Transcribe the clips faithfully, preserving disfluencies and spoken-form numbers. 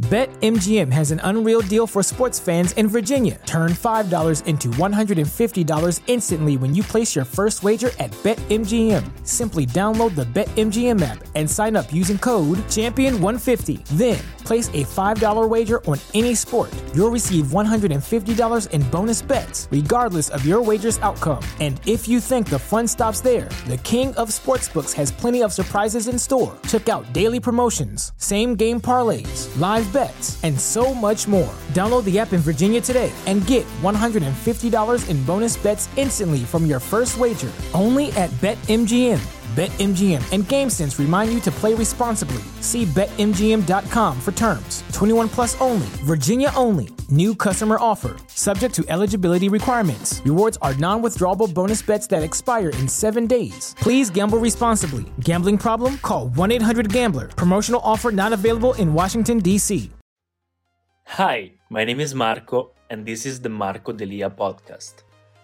BetMGM has an unreal deal for sports fans in Virginia. Turn five dollars into one hundred fifty dollars instantly when you place your first wager at BetMGM. Simply download the BetMGM app and sign up using code champion one fifty. Then, place a five dollars wager on any sport. You'll receive one hundred fifty dollars in bonus bets, regardless of your wager's outcome. And if you think the fun stops there, the King of Sportsbooks has plenty of surprises in store. Check out daily promotions, same-game parlays, live bets, and so much more. Download the app in Virginia today and get one hundred fifty dollars in bonus bets instantly from your first wager. Only at BetMGM. BetMGM and GameSense remind you to play responsibly. See Bet M G M dot com for terms. twenty-one plus only. Virginia only. New customer offer. Subject to eligibility requirements. Rewards are non-withdrawable bonus bets that expire in seven days. Please gamble responsibly. Gambling problem? Call one eight hundred gambler. Promotional offer not available in Washington, D C Hi, my name is Marco, and this is the Marco Delia podcast.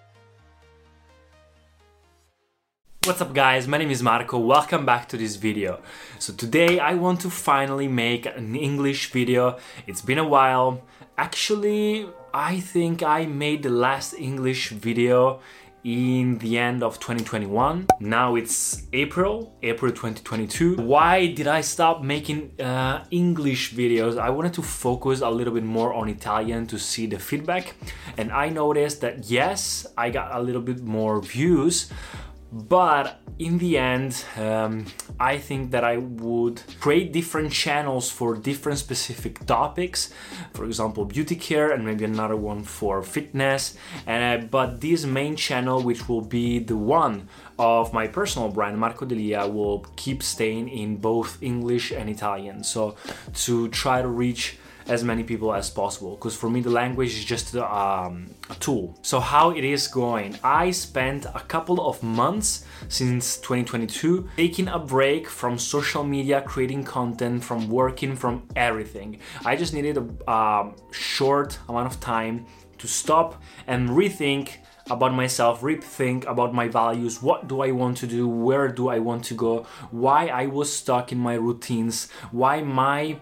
What's up guys, my name is Marco, welcome back to this video. So today I want to finally make an English video. It's been a while. Actually, I think I made the last English video in the end of twenty twenty-one. Now it's April, April twenty twenty-two. Why did I stop making uh, English videos? I wanted to focus a little bit more on Italian to see the feedback. And I noticed that yes, I got a little bit more views, but in the end, um, I think that I would create different channels for different specific topics. For example, beauty care, and maybe another one for fitness. And uh, but this main channel, which will be the one of my personal brand, Marco Delia, will keep staying in both English and Italian. So to try to reach as many people as possible, because for me the language is just um, a tool. So how it is going? I spent a couple of months since twenty twenty-two taking a break from social media, creating content, from working, from everything. I just needed a um, short amount of time to stop and rethink about myself, rethink about my values. What do I want to do? Where do I want to go? Why I was stuck in my routines? Why my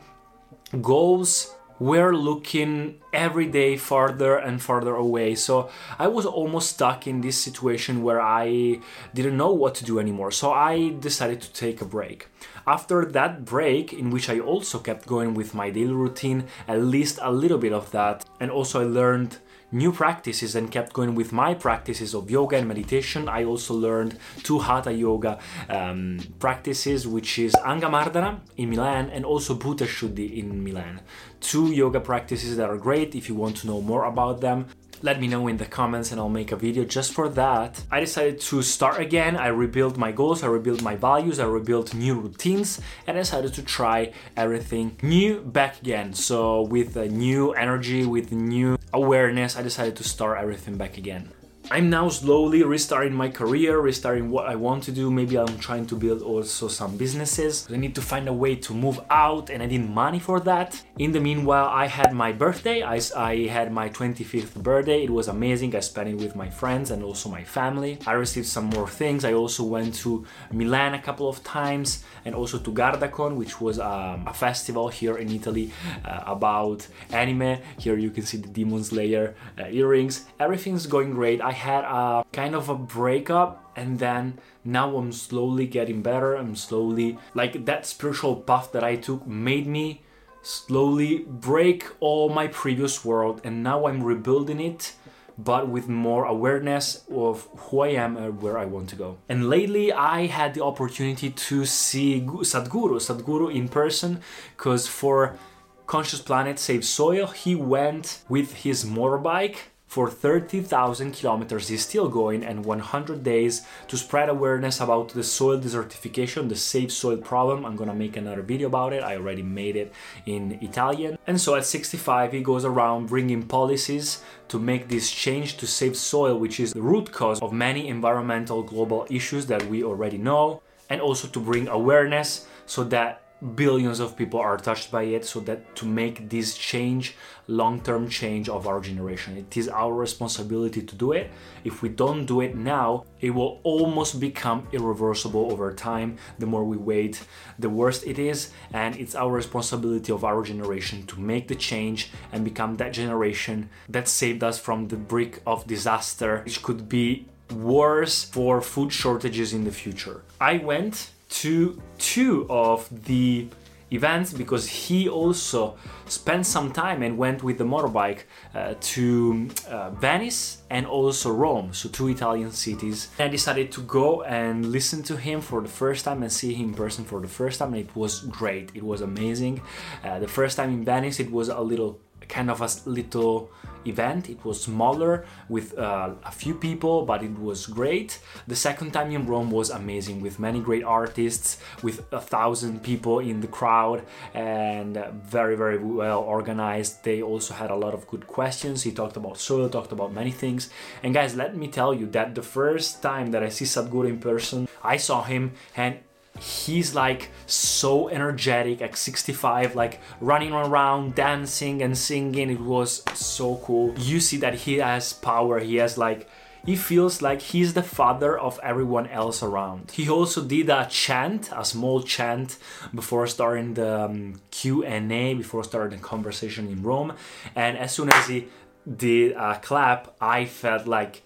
goals were looking every day farther and farther away. So I was almost stuck in this situation where I didn't know what to do anymore. So I decided to take a break. After that break, in which I also kept going with my daily routine, at least a little bit of that, and also I learned new practices and kept going with my practices of yoga and meditation. I also learned two Hatha yoga um, practices, which is Angamardana in Milan and also Bhuta Shuddhi in Milan. Two yoga practices that are great. If you want to know more about them, let me know in the comments and I'll make a video just for that. I decided to start again. I rebuilt my goals, I rebuilt my values, I rebuilt new routines, and I decided to try everything new back again. So with a new energy, with new awareness, I decided to start everything back again. I'm now slowly restarting my career, restarting what I want to do. Maybe I'm trying to build also some businesses. I need to find a way to move out and I need money for that. In the meanwhile, I had my birthday. I, I had my twenty-fifth birthday. It was amazing. I spent it with my friends and also my family. I received some more things. I also went to Milan a couple of times and also to Gardacon, which was um, a festival here in Italy uh, about anime. Here you can see the Demon Slayer uh, earrings. Everything's going great. I had a kind of a breakup, and then now I'm slowly getting better. I'm slowly, like, that spiritual path that I took made me slowly break all my previous world, and now I'm rebuilding it, but with more awareness of who I am and where I want to go. And lately I had the opportunity to see Sadhguru, Sadhguru in person, because for Conscious Planet Save Soil, he went with his motorbike for thirty thousand kilometers. He's still going, and one hundred days to spread awareness about the soil desertification, the Save Soil problem. I'm gonna make another video about it. I already made it in Italian. And so at sixty-five, he goes around bringing policies to make this change to save soil, which is the root cause of many environmental global issues that we already know, and also to bring awareness so that billions of people are touched by it, so that to make this change, long-term change of our generation, it is our responsibility to do it. If we don't do it now, it will almost become irreversible over time. The more we wait, the worse it is, and it's our responsibility of our generation to make the change and become that generation that saved us from the brink of disaster, which could be worse for food shortages in the future. I went to two of the events because he also spent some time and went with the motorbike uh, to uh, Venice and also Rome, so two Italian cities. And I decided to go and listen to him for the first time and see him in person for the first time, and it was great. It was amazing. Uh, the first time in Venice, it was a little kind of a little event. It was smaller with uh, a few people, but it was great. The second time in Rome was amazing, with many great artists, with a thousand people in the crowd, and very very well organized. They also had a lot of good questions. He talked about soil, talked about many things. And guys, let me tell you that the first time that I see Sadhguru in person, I saw him and he's like so energetic at sixty-five, like running around, dancing and singing. It was so cool. You see that he has power. He has like, he feels like he's the father of everyone else around. He also did a chant, a small chant before starting the um, Q and A, before starting the conversation in Rome. And as soon as he did a clap, I felt like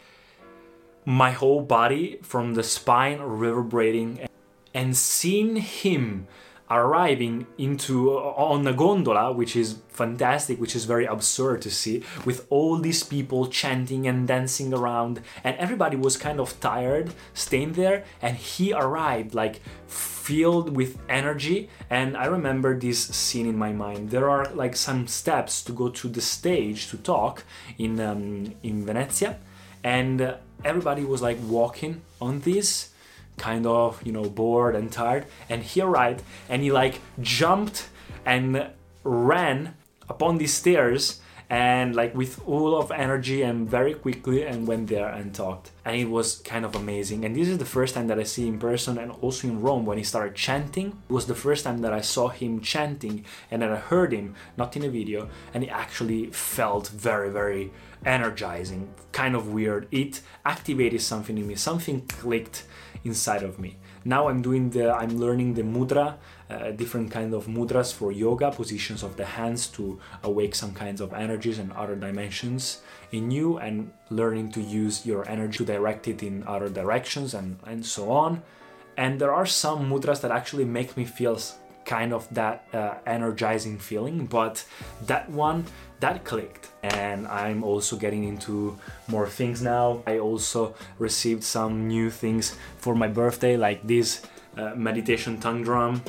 my whole body from the spine reverberating. And seeing him arriving into on a gondola, which is fantastic, which is very absurd to see, with all these people chanting and dancing around, and everybody was kind of tired staying there, and he arrived like filled with energy. And I remember this scene in my mind. There are like some steps to go to the stage to talk in um, in Venezia, and uh, everybody was like walking on this, kind of, you know, bored and tired, and he arrived and he like jumped and ran upon these stairs and like with all of energy and very quickly, and went there and talked, and it was kind of amazing. And this is the first time that I see him in person, and also in Rome when he started chanting. It was the first time that I saw him chanting and then I heard him, not in a video, and it actually felt very very energizing, kind of weird. It activated something in me, something clicked inside of me. Now I'm doing the, I'm learning the mudra, uh, different kind of mudras for yoga, positions of the hands to awake some kinds of energies and other dimensions in you, and learning to use your energy to direct it in other directions and, and so on. And there are some mudras that actually make me feel kind of that uh, energizing feeling, but that one, that clicked. And I'm also getting into more things now. I also received some new things for my birthday, like this uh, meditation tongue drum.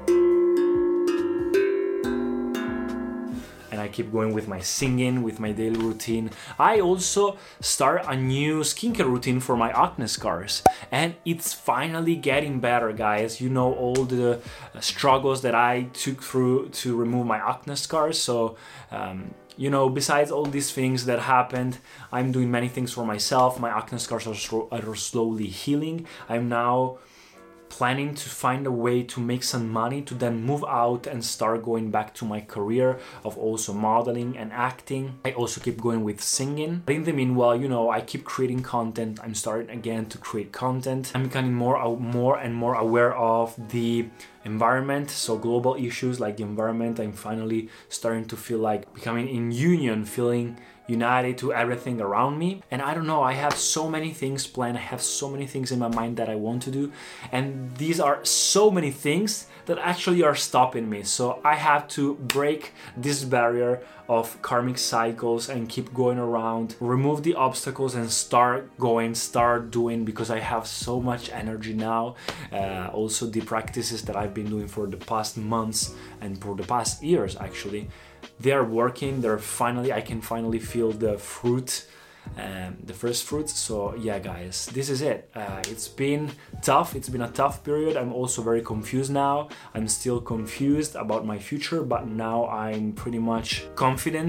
And I keep going with my singing, with my daily routine. I also start a new skincare routine for my acne scars, and it's finally getting better, guys. You know, all the struggles that I took through to remove my acne scars. So um, you know, besides all these things that happened, I'm doing many things for myself. My acne scars are, sl- are slowly healing. I'm now planning to find a way to make some money to then move out and start going back to my career of also modeling and acting. I also keep going with singing. But in the meanwhile, you know, I keep creating content. I'm starting again to create content. I'm becoming more, more and more aware of the environment, so global issues like the environment. I'm finally starting to feel like becoming in union, feeling united to everything around me. And I don't know, I have so many things planned. I have so many things in my mind that I want to do, and these are so many things that actually are stopping me. So I have to break this barrier of karmic cycles and keep going around, remove the obstacles and start going, start doing, because I have so much energy now. Uh, also the practices that I've been doing for the past months and for the past years, actually, they are working. They're finally, I can finally feel the fruit, um, the first fruits. So yeah, guys, this is it. Uh, it's been tough. It's been a tough period. I'm also very confused now. I'm still confused about my future, but now I'm pretty much confident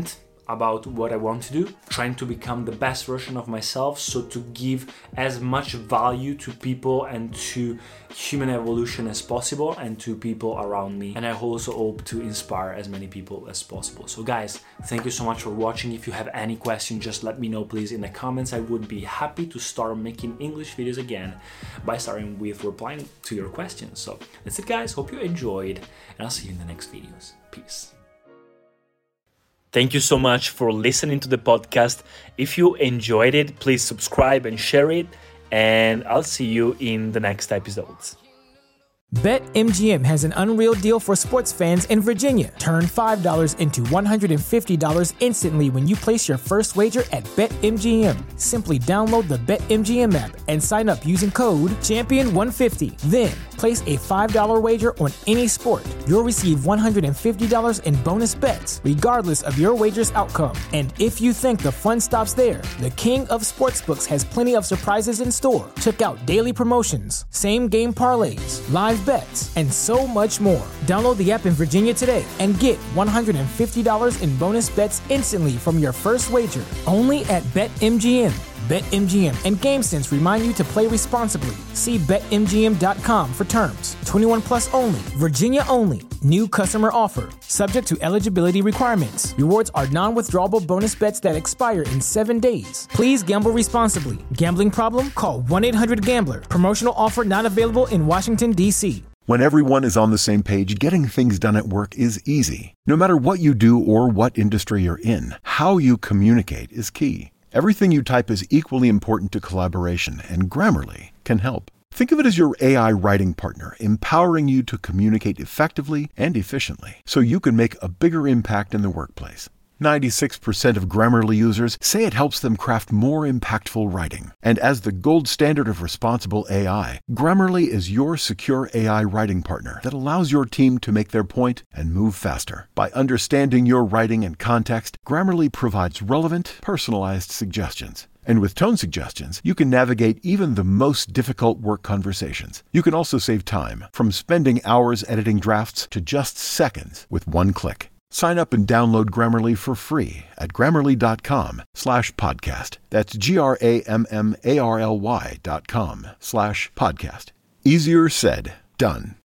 about what I want to do, trying to become the best version of myself, so to give as much value to people and to human evolution as possible and to people around me. And I also hope to inspire as many people as possible. So guys, thank you so much for watching. If you have any questions, just let me know please in the comments. I would be happy to start making English videos again by starting with replying to your questions. So that's it guys, hope you enjoyed, and I'll see you in the next videos. Peace. Thank you so much for listening to the podcast. If you enjoyed it, please subscribe and share it, and I'll see you in the next episodes. BetMGM has an unreal deal for sports fans in Virginia. Turn five dollars into one hundred fifty dollars instantly when you place your first wager at BetMGM. Simply download the BetMGM app and sign up using code champion one fifty. Then, place a five dollars wager on any sport. You'll receive one hundred fifty dollars in bonus bets, regardless of your wager's outcome. And if you think the fun stops there, the king of sportsbooks has plenty of surprises in store. Check out daily promotions, same-game parlays, live bets, and so much more. Download the app in Virginia today and get one hundred fifty dollars in bonus bets instantly from your first wager. Only at BetMGM. BetMGM and GameSense remind you to play responsibly. See Bet M G M dot com for terms. twenty-one plus only. Virginia only. New customer offer. Subject to eligibility requirements. Rewards are non-withdrawable bonus bets that expire in seven days. Please gamble responsibly. Gambling problem? Call one eight hundred gambler. Promotional offer not available in Washington, D C When everyone is on the same page, getting things done at work is easy. No matter what you do or what industry you're in, how you communicate is key. Everything you type is equally important to collaboration, and Grammarly can help. Think of it as your A I writing partner, empowering you to communicate effectively and efficiently, so you can make a bigger impact in the workplace. ninety-six percent of Grammarly users say it helps them craft more impactful writing. And as the gold standard of responsible A I, Grammarly is your secure A I writing partner that allows your team to make their point and move faster. By understanding your writing and context, Grammarly provides relevant, personalized suggestions. And with tone suggestions, you can navigate even the most difficult work conversations. You can also save time, from spending hours editing drafts to just seconds with one click. Sign up and download Grammarly for free at grammarly.com slash podcast. That's G-R-A-M-M-A-R-L-Y dot com slash podcast. Easier said, done.